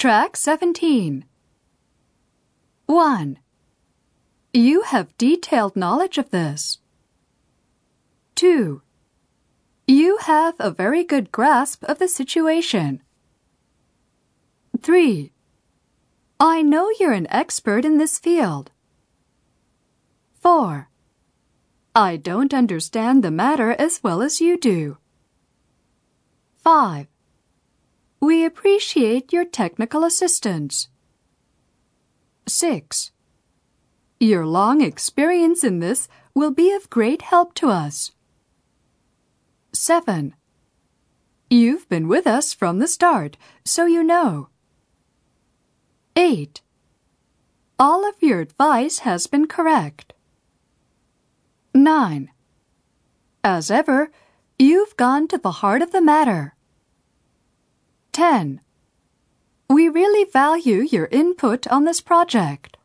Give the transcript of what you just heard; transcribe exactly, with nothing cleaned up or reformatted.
Track seventeen. one. You have detailed knowledge of this. two. You have a very good grasp of the situation. three. I know you're an expert in this field. four. I don't understand the matter as well as you do. five. We appreciate your technical assistance. six. Your long experience in this will be of great help to us. seven. You've been with us from the start, so you know. eight. All of your advice has been correct. nine. As ever, you've gone to the heart of the matter. ten. We really value your input on this project.